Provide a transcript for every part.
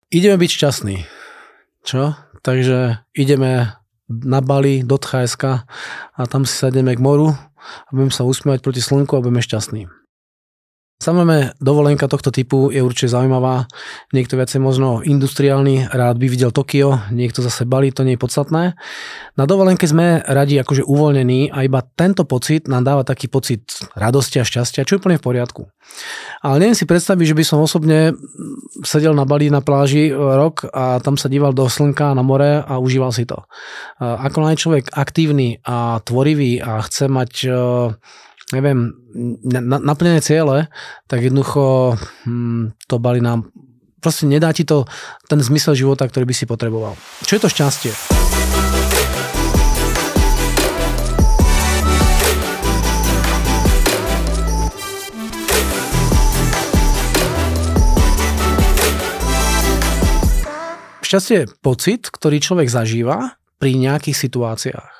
ideme byť šťastní. Čo? Takže ideme na Bali do Thajska a tam si sadneme k moru a budeme sa usmievať proti slnku a budeme šťastní. Samozrejme, dovolenka tohto typu je určite zaujímavá. Niekto viacej možno industriálny, rád by videl Tokio, niekto zase Bali, to nie je podstatné. Na dovolenke sme radi akože uvoľnení a iba tento pocit nám dáva taký pocit radosti a šťastia, čo je úplne v poriadku. Ale neviem si predstaviť, že by som osobne sedel na Bali na pláži rok a tam sa díval do slnka na more a užíval si to. Ako je človek aktívny a tvorivý a chce mať naplnené ciele, tak jednoducho to Bali nám proste nedá ti to ten zmysel života, ktorý by si potreboval. Čo je to šťastie? Šťastie je pocit, ktorý človek zažíva pri nejakých situáciách.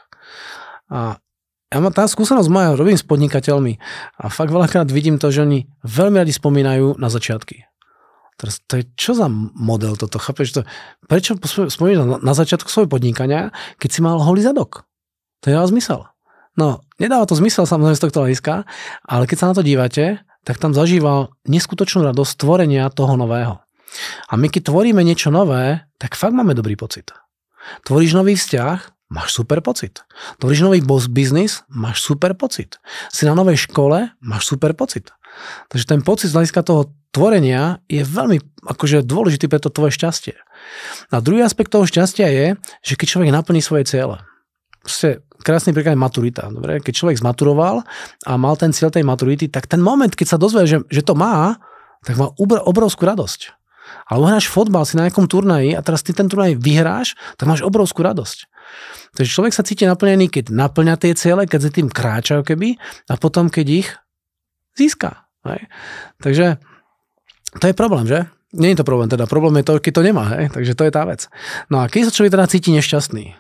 A ja mám tá skúsenosť moja, robím s podnikateľmi a fakt veľakrát vidím to, že oni veľmi radi spomínajú na začiatky. Teraz to je čo za model toto, chápeš? Prečo spomínaš na začiatku svojho podnikania, keď si mal holý zadok? To je zmysel. No, nedáva to zmysel samozrejme z tohto hľadiska, ale keď sa na to dívate, tak tam zažíval neskutočnú radosť tvorenia toho nového. A my keď tvoríme niečo nové, tak fakt máme dobrý pocit. Tvoríš nový vzťah, máš super pocit. Tvoríš nový biznis, máš super pocit. Si na novej škole, máš super pocit. Takže ten pocit z hľadiska toho tvorenia je veľmi akože dôležitý pre to tvoje šťastie. A druhý aspekt toho šťastia je, že keď človek naplní svoje ciele. Proste krásny príklad je maturita. Dobre? Keď človek zmaturoval a mal ten cieľ tej maturity, tak ten moment, keď sa dozvie, že to má, tak má obrovskú radosť. Alebo hráš fotbal si na nejakom turnaji a teraz ty ten turnaj vyhráš, tak máš obrovskú radosť. Takže človek sa cíti naplnený, keď naplňa tie ciele, keď sa tým kráča keby a potom, keď ich získa. Hej. Takže to je problém, že? Nie je to problém, teda problém je to, keď to nemá, hej? Takže to je tá vec. No a keď sa človek teda cíti nešťastný?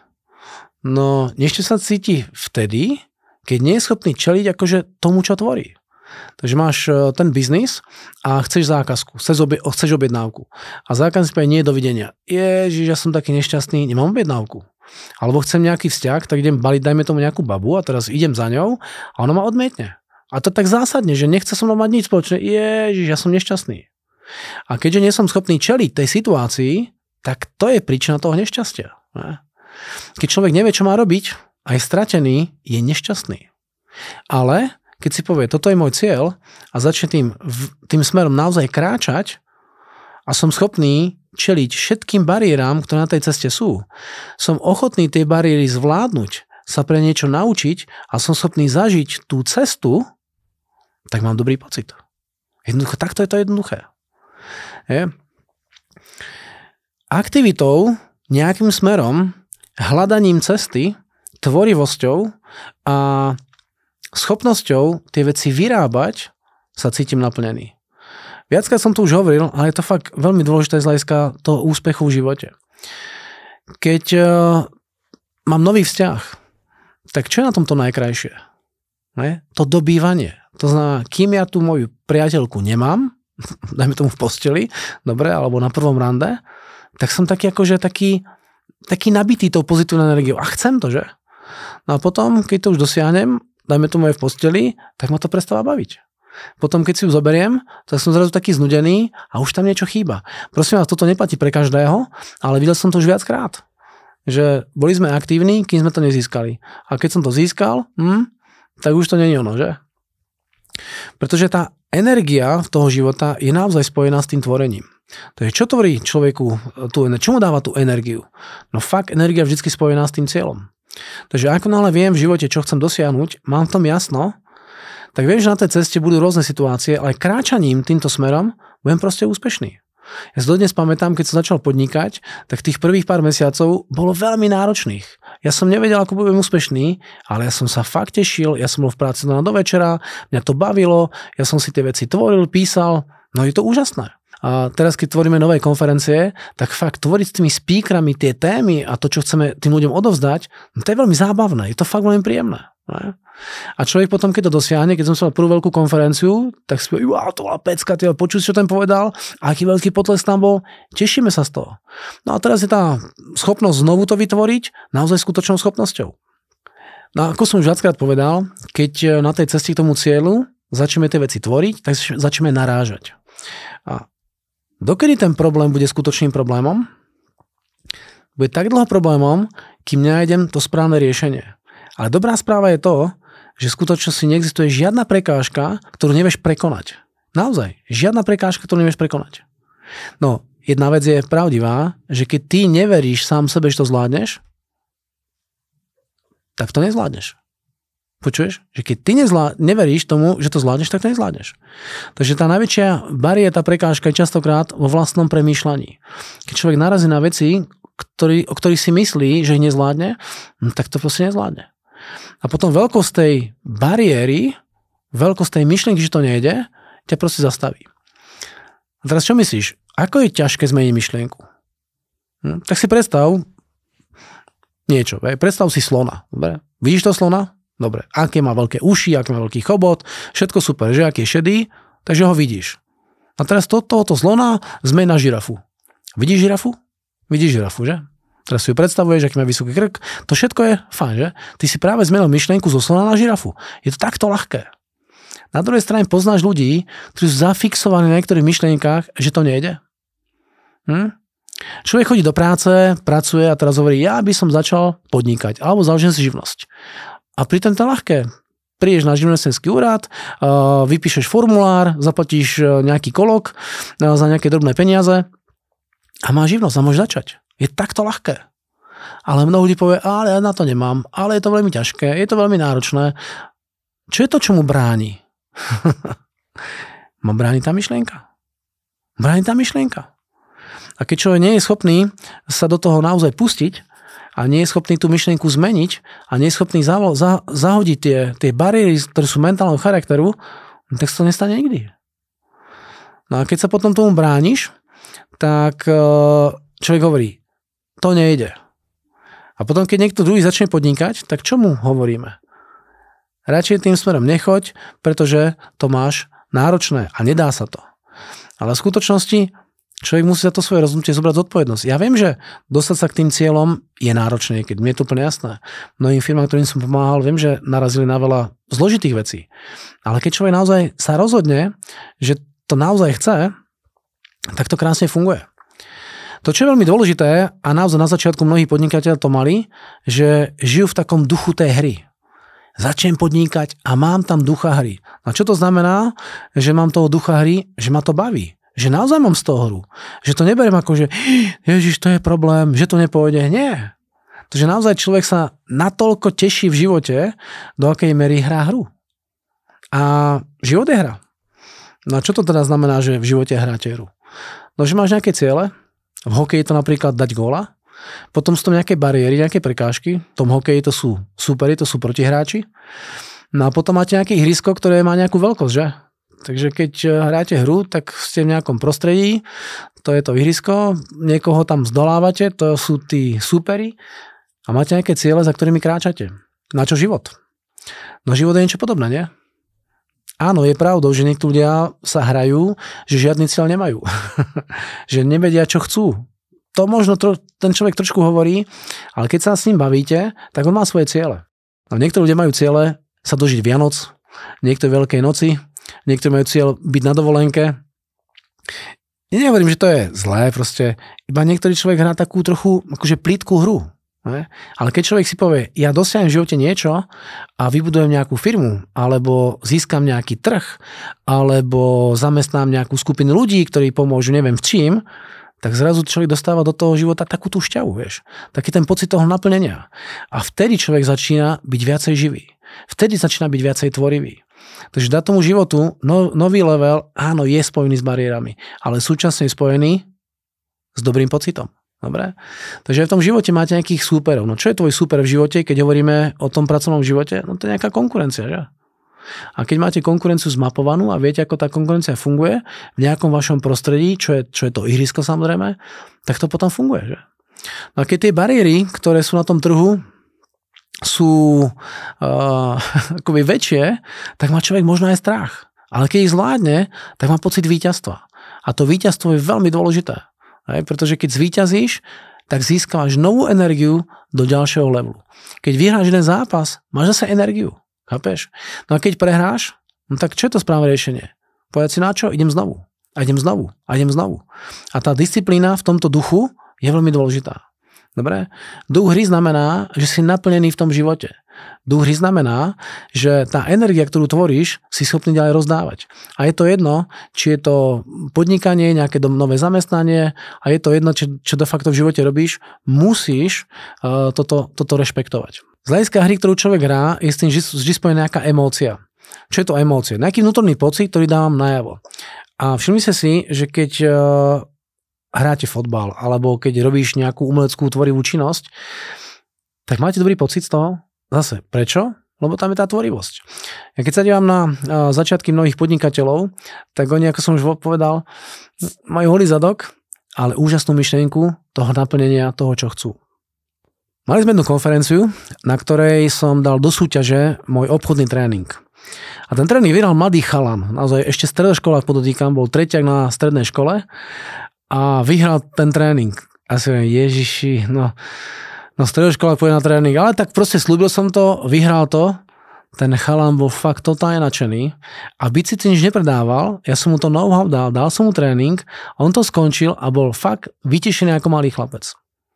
No, nešťastný sa cíti vtedy, keď nie je schopný čeliť akože tomu, čo tvorí. Takže máš ten biznis a chceš zákazku, chceš objednávku. A zákazník povie, nie, dovidenia. Ježiš, ja som taký nešťastný, nemám objednávku. Alebo chcem nejaký vzťah, tak idem baliť, dajme tomu nejakú babu a teraz idem za ňou a ona ma odmietne. A to tak zásadne, že nechce so mnou mať nič spoločné. Ježiš, ja som nešťastný. A keďže nie som schopný čeliť tej situácii, tak to je príčina toho nešťastia. Keď človek nevie, čo má robiť a je stratený, je nešťastný. Ale keď si povie, toto je môj cieľ a začne tým smerom naozaj kráčať a som schopný čeliť všetkým bariéram, ktoré na tej ceste sú. Som ochotný tie bariéry zvládnuť, sa pre niečo naučiť a som schopný zažiť tú cestu, tak mám dobrý pocit. Jednoducho, takto je to jednoduché. Aktivitou, nejakým smerom, hľadaním cesty, tvorivosťou a schopnosťou tie veci vyrábať sa cítim naplnený. Viackrát som to už hovoril, ale je to fakt veľmi dôležité z hľadiska toho úspechu v živote. Keď mám nový vzťah, tak čo je na tomto najkrajšie? To dobývanie. To znamená, kým ja tú moju priateľku nemám, dajme tomu v posteli, dobre, alebo na prvom rande, tak som taký nabitý tou pozitívnou energiou. A chcem to, že? No a potom, keď to už dosiahnem, dajme tomu aj v posteli, tak ma to prestáva baviť. Potom, keď si ju zoberiem, tak som zrazu taký znudený a už tam niečo chýba. Prosím vás, toto neplatí pre každého, ale videl som to už viackrát. Že boli sme aktívni, kým sme to nezískali. A keď som to získal, tak už to nie je ono, že? Pretože tá energia toho života je naozaj spojená s tým tvorením. Takže čo tvorí človeku čo mu dáva tú energiu? No fakt, energia je vždy spojená s tým cieľom. Takže ako náhle viem v živote, čo chcem dosiahnuť, mám v tom jasno, tak viem, že na tej ceste budú rôzne situácie, ale kráčaním týmto smerom budem proste úspešný. Ja si dodnes pamätám, keď som začal podnikať, tak tých prvých pár mesiacov bolo veľmi náročných. Ja som nevedel, ako budem úspešný, ale ja som sa fakt tešil, ja som bol v práci do večera, mňa to bavilo, ja som si tie veci tvoril, písal, no je to úžasné. A teraz, keď tvoríme nové konferencie, tak fakt tvoriť s tými speakerami tie témy a to, čo chceme tým ľuďom odovzdať, no to je veľmi zábavné, je to fakt veľmi príjemné. Ne? A človek potom, keď to dosiahne, keď som sa mal prvú veľkú konferenciu, tak si povie, to bola pecka, počuť, čo ten povedal, aký veľký potlesk tam bol, tešíme sa z toho. No a teraz je tá schopnosť znovu to vytvoriť naozaj skutočnou schopnosťou. No ako som už viackrát povedal, keď na tej ceste k tomu cieľu začneme tie veci tvoriť, tak začneme narážať. A dokedy ten problém bude skutočným problémom? Bude tak dlho problémom, kým nenájdem to správne riešenie. Ale dobrá správa je to, že v skutočnosti neexistuje žiadna prekážka, ktorú nevieš prekonať. Naozaj, žiadna prekážka, ktorú nevieš prekonať. No, jedna vec je pravdivá, že keď ty neveríš sám sebe, že to zvládneš, tak to nezvládneš. Počuješ? Že keď ty neveríš tomu, že to zvládneš, tak to nezvládneš. Takže tá najväčšia bariéra, tá prekážka je častokrát vo vlastnom premýšľaní. Keď človek narazí na veci, o ktorých si myslí, že ich nezvládne, tak to proste nezvládne. A potom veľkosť tej bariéry, veľkosť tej myšlienky, že to nejde, ťa proste zastaví. A teraz čo myslíš? Ako je ťažké zmeniť myšlienku? Tak si predstav niečo. Predstav si slona. Dobre? Vidíš to slona? Dobre. Aké má veľké uši, aký má veľký chobot, všetko super, že aký je šedý, takže ho vidíš. A teraz tohoto slona zmeň na žirafu. Vidíš žirafu? Vidíš žirafu, že? Teraz si ju predstavuješ, aký má vysoký krk. To všetko je fajn, že? Ty si práve zmenil myšlienku zo slona na žirafu. Je to takto ľahké. Na druhej strane poznáš ľudí, ktorí sú zafixovaní na niektorých myšlienkách, že to nejde. Človek chodí do práce, pracuje a teraz hovorí, ja by som začal podnikať, alebo založím si živnosť. A pritom to je ľahké. Prídeš na živnostenský úrad, vypíšeš formulár, zaplatíš nejaký kolok za nejaké drobné peniaze a máš živnosť a môžeš začať. Je takto ľahké. Ale mnoho ľudí povie, ale ja na to nemám, ale je to veľmi ťažké, je to veľmi náročné. Čo je to, čo mu bráni? Ma bráni tá myšlienka. Bráni tá myšlienka. A keď človek nie je schopný sa do toho naozaj pustiť a nie je schopný tú myšlienku zmeniť a nie je schopný zahodiť tie bariéry, ktoré sú mentálneho charakteru, tak sa to nestane nikdy. No a keď sa potom tomu brániš, tak človek hovorí, to nejde. A potom, keď niekto druhý začne podnikať, tak čo mu hovoríme? Radšej tým smerom nechoď, pretože to máš náročné a nedá sa to. Ale v skutočnosti človek musí za to svoje rozhodnutie zobrať zodpovednosť. Ja viem, že dostať sa k tým cieľom je náročné, keď mne je to úplne jasné. Mnohým firmám, ktorým som pomáhal, viem, že narazili na veľa zložitých vecí. Ale keď človek naozaj sa rozhodne, že to naozaj chce, tak to krásne funguje. To, čo je veľmi dôležité, a naozaj na začiatku mnohí podnikateľi to mali, že žijú v takom duchu tej hry. Začnem podnikať a mám tam ducha hry. A čo to znamená, že mám toho ducha hry, že ma to baví? Že naozaj mám z toho hru. Že to neberiem ako, že Ježiš, to je problém, že to nepôjde. Nie. Takže naozaj človek sa natoľko teší v živote, do akej miery hrá hru. A život je hra. No a čo to teda znamená, že v živote hráte hru? No, že máš nejaké ciele. V hokeji to napríklad dať góla. Potom sú tam nejaké bariéry, nejaké prekážky. V tom hokeji to sú superi, to sú protihráči. No a potom máte nejaké ihrisko, ktoré má nejakú veľkosť, že? Takže keď hráte hru, tak ste v nejakom prostredí, to je to ihrisko, niekoho tam zdolávate, to sú tí superi a máte nejaké ciele, za ktorými kráčate. Na čo život? No život je niečo podobné, nie? Áno, je pravdou, že niektorí ľudia sa hrajú, že žiadny cieľ nemajú. Že nevedia, čo chcú. To možno ten človek trošku hovorí, ale keď sa s ním bavíte, tak on má svoje ciele. No, niektorí ľudia majú ciele sa dožiť Vianoc, niektorí Veľkej noci, niektorí majú cieľ byť na dovolenke. Ja nehovorím, že to je zlé, proste iba niektorý človek hrá takú trochu akože plítkú hru. Ne? Ale keď človek si povie, ja dosiahnem v živote niečo a vybudujem nejakú firmu, alebo získam nejaký trh, alebo zamestnám nejakú skupinu ľudí, ktorí pomôžu neviem v čím, tak zrazu človek dostáva do toho života takú tú šťavu, vieš. Taký ten pocit toho naplnenia. A vtedy človek začína byť viacej živý. Vtedy začína byť viacej tvorivý. Takže dá tomu životu nový level, áno, je spojený s bariérami, ale súčasne je spojený s dobrým pocitom. Dobre? Takže v tom živote máte nejakých súperov. No čo je tvoj súper v živote, keď hovoríme o tom pracovnom živote? No to je nejaká konkurencia, že? A keď máte konkurenciu zmapovanú a viete, ako tá konkurencia funguje v nejakom vašom prostredí, čo je to ihrisko samozrejme, tak to potom funguje, že? No a keď tie bariéry, ktoré sú na tom trhu, sú akoby väčšie, tak má človek možno aj strach. Ale keď ich zvládne, tak má pocit víťazstva. A to víťazstvo je veľmi dôležité. Pretože keď zvíťazíš, tak získavaš novú energiu do ďalšieho levelu. Keď vyhráš jeden zápas, máš zase energiu. Chápeš? No a keď prehráš, no tak čo je to správne riešenie? Povedať si na čo? Idem znovu. A idem znovu. A idem znovu. A tá disciplína v tomto duchu je veľmi dôležitá. Dobre? Duch hry znamená, že si naplnený v tom živote. Duch hry znamená, že tá energia, ktorú tvoríš, si schopný ďalej rozdávať. A je to jedno, či je to podnikanie, nejaké nové zamestnanie, a je to jedno, čo de facto v živote robíš, musíš toto rešpektovať. Z hľadiska hry, ktorú človek hrá, je s tým vždy spojená nejaká emócia. Čo je to emócia? Nejaký vnútorný pocit, ktorý dávam najavo. A všimnite si, že keď hráte fotbal, alebo keď robíš nejakú umeleckú tvorivú činnosť, tak máte dobrý pocit z toho? Zase, prečo? Lebo tam je tá tvorivosť. Ja keď sa dívam na začiatky mnohých podnikateľov, tak oni, ako som už povedal, majú holý zadok, ale úžasnú myšlienku toho naplnenia toho, čo chcú. Mali sme jednu konferenciu, na ktorej som dal do súťaže môj obchodný tréning. A ten tréning vyhral mladý chalan, naozaj ešte stredoškolák podotýkam, bol treťak na strednej škole a vyhral ten tréning. A si hovorím, Ježiši, no stredoškolák pôjde na tréning, ale tak proste slúbil som to, vyhral to, ten chalan bol fakt totálne nadšený a bici nič nepredával, ja som mu to know-how dal som mu tréning, on to skončil a bol fakt vytešený ako malý chlapec.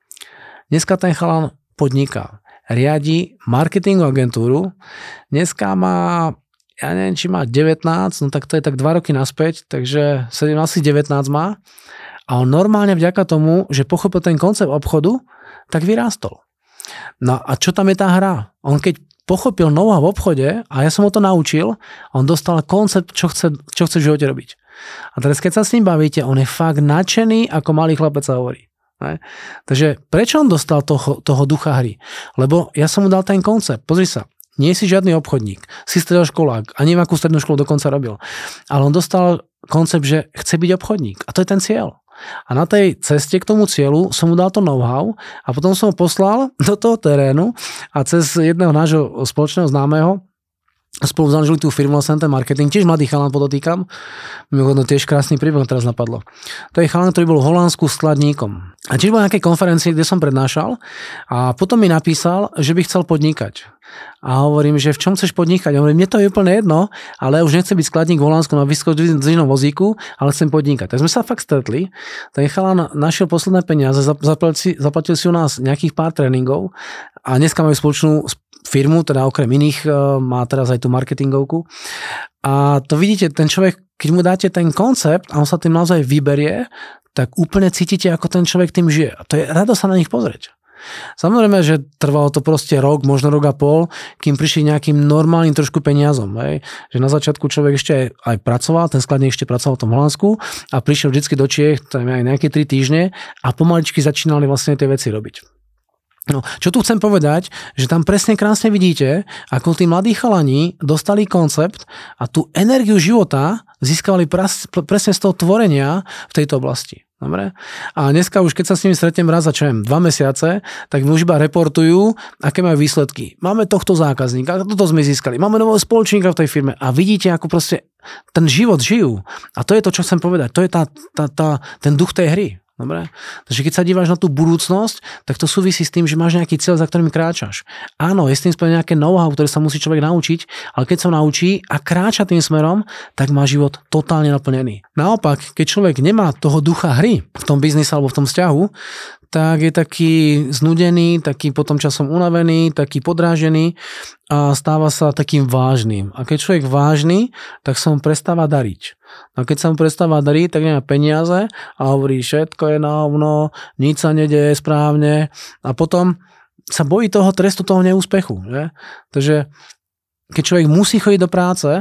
Dneska ten chalan podniká, riadi marketingovú agentúru, dneska má, ja neviem, či má 19, no tak to je tak 2 roky naspäť, takže 17, 19 má a on normálne vďaka tomu, že pochopil ten koncept obchodu, tak vyrástol. No a čo tam je tá hra? On keď pochopil know-how v obchode a ja som ho to naučil, on dostal koncept, čo chce v živote robiť. A teraz keď sa s ním bavíte, on je fakt nadšený, ako malý chlapec sa hovorí. Ne? Takže prečo on dostal toho ducha hry? Lebo ja som mu dal ten koncept. Pozri sa, nie si žiadny obchodník, si stredoškolák a neviem, akú strednú školu dokonca robil. Ale on dostal koncept, že chce byť obchodník. A to je ten cieľ. A na tej ceste k tomu cieľu som mu dal to know-how a potom som ho poslal do toho terénu a cez jedného nášho spoločného známeho spolu založili tú firmu ten marketing, tiež mladý chalan podotýkam, mimochodom tiež krásny príbeh teraz napadlo. To je chalan, ktorý bol v Holandsku skladníkom. A tiež bol na nejakej konferencii, kde som prednášal a potom mi napísal, že by chcel podnikať. A hovorím, že v čom chceš podnikať? Hovorím, mne to je úplne jedno, ale ja už nechcem byť skladník v Holandsku na vysokozdvižnom vozíku, ale chcem podnikať. Tak sme sa fakt stretli, ten chalan našiel posledné peniaze, zaplatil si u nás nejakých pár tréningov a dneska majú spoločnú firmu, teda okrem iných má teraz aj tú marketingovku. A to vidíte, ten človek, keď mu dáte ten koncept a on sa tým naozaj vyberie, tak úplne cítite, ako ten človek tým žije. A to je radosť sa na nich pozrieť. Samozrejme, že trvalo to proste rok, možno rok a pol, kým prišli nejakým normálnym trošku peniazom. Hej. Že na začiatku človek ešte aj pracoval, ten skladník ešte pracoval v tom Holandsku a prišiel vždycky do Čiech, tam aj nejaké 3 týždne a pomaličky začínali vlastne tie veci robiť. No, čo tu chcem povedať, že tam presne krásne vidíte, ako tí mladí chalani dostali koncept a tú energiu života získavali presne z toho tvorenia v tejto oblasti. Dobre? A dneska už, keď sa s nimi stretnem raz za 2 mesiace, tak mi už iba reportujú, aké majú výsledky. Máme tohto zákazníka, toto sme získali, máme nového spoločníka v tej firme a vidíte, ako proste ten život žijú. A to je to, čo chcem povedať. To je ten duch tej hry. Dobre? Takže keď sa díváš na tú budúcnosť, tak to súvisí s tým, že máš nejaký cieľ, za ktorým kráčaš. Áno, je s tým spojené nejaké know-how, ktoré sa musí človek naučiť, ale keď sa naučí a kráča tým smerom, tak má život totálne naplnený. Naopak, keď človek nemá toho ducha hry v tom biznise alebo v tom vzťahu, tak je taký znudený, taký potom časom unavený, taký podrážený a stáva sa takým vážnym. A keď človek vážny, tak sa mu prestáva dariť. A keď sa mu prestáva dariť, tak nemá peniaze a hovorí, všetko je na hovno, nič sa nedeje správne a potom sa bojí toho trestu, toho neúspechu. Že? Takže keď človek musí chodiť do práce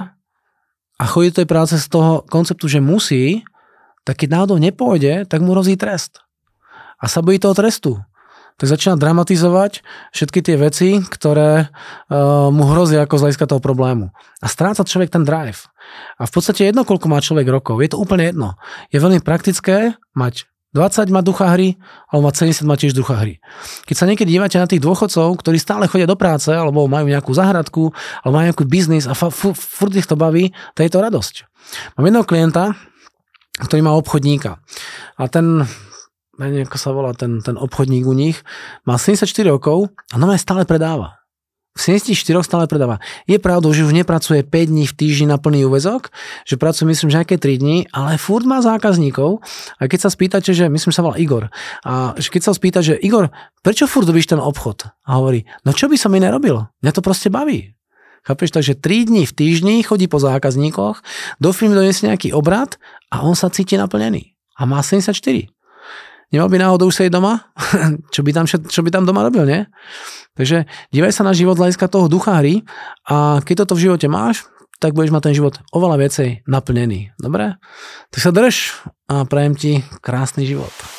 a chodí do tej práce z toho konceptu, že musí, tak keď náhodou nepôjde, tak mu hrozí trest. A sa bojí toho trestu. Tak začína dramatizovať všetky tie veci, ktoré mu hrozia ako z hľadiska toho problému. A stráca človek ten drive. A v podstate jedno, koľko má človek rokov, je to úplne jedno. Je veľmi praktické mať 20 má ducha hry, alebo má 70 má tiež ducha hry. Keď sa niekedy dívate na tých dôchodcov, ktorí stále chodia do práce, alebo majú nejakú záhradku, alebo majú nejaký biznis a furt ich to baví, to je to radosť. Mám jedného klienta, ktorý má obchodníka. A ten, neviem, ako sa volá ten obchodník u nich, má 74 rokov a normálne stále predáva. V 74 stále predáva. Je pravdou, že už nepracuje 5 dní v týždni na plný úväzok, že pracuje myslím, že nejaké 3 dní, ale furt má zákazníkov. A keď sa spýtate, že myslím, sa volá Igor, a keď sa spýta, že Igor, prečo furt robíš ten obchod? A hovorí, no čo by som iné robil? Mňa to proste baví. Chápeš? Takže 3 dní v týždni chodí po zákazníkoch, do firmy donesie nejaký obrad a on sa cíti naplnený. A má 74. Nemal by náhodou už sedieť doma? Čo by tam doma robil, nie? Takže dívaj sa na život z hľadiska toho ducha hry a keď toto v živote máš, tak budeš mať ten život oveľa viacej naplnený. Dobre? Tak sa drž a prajem ti krásny život.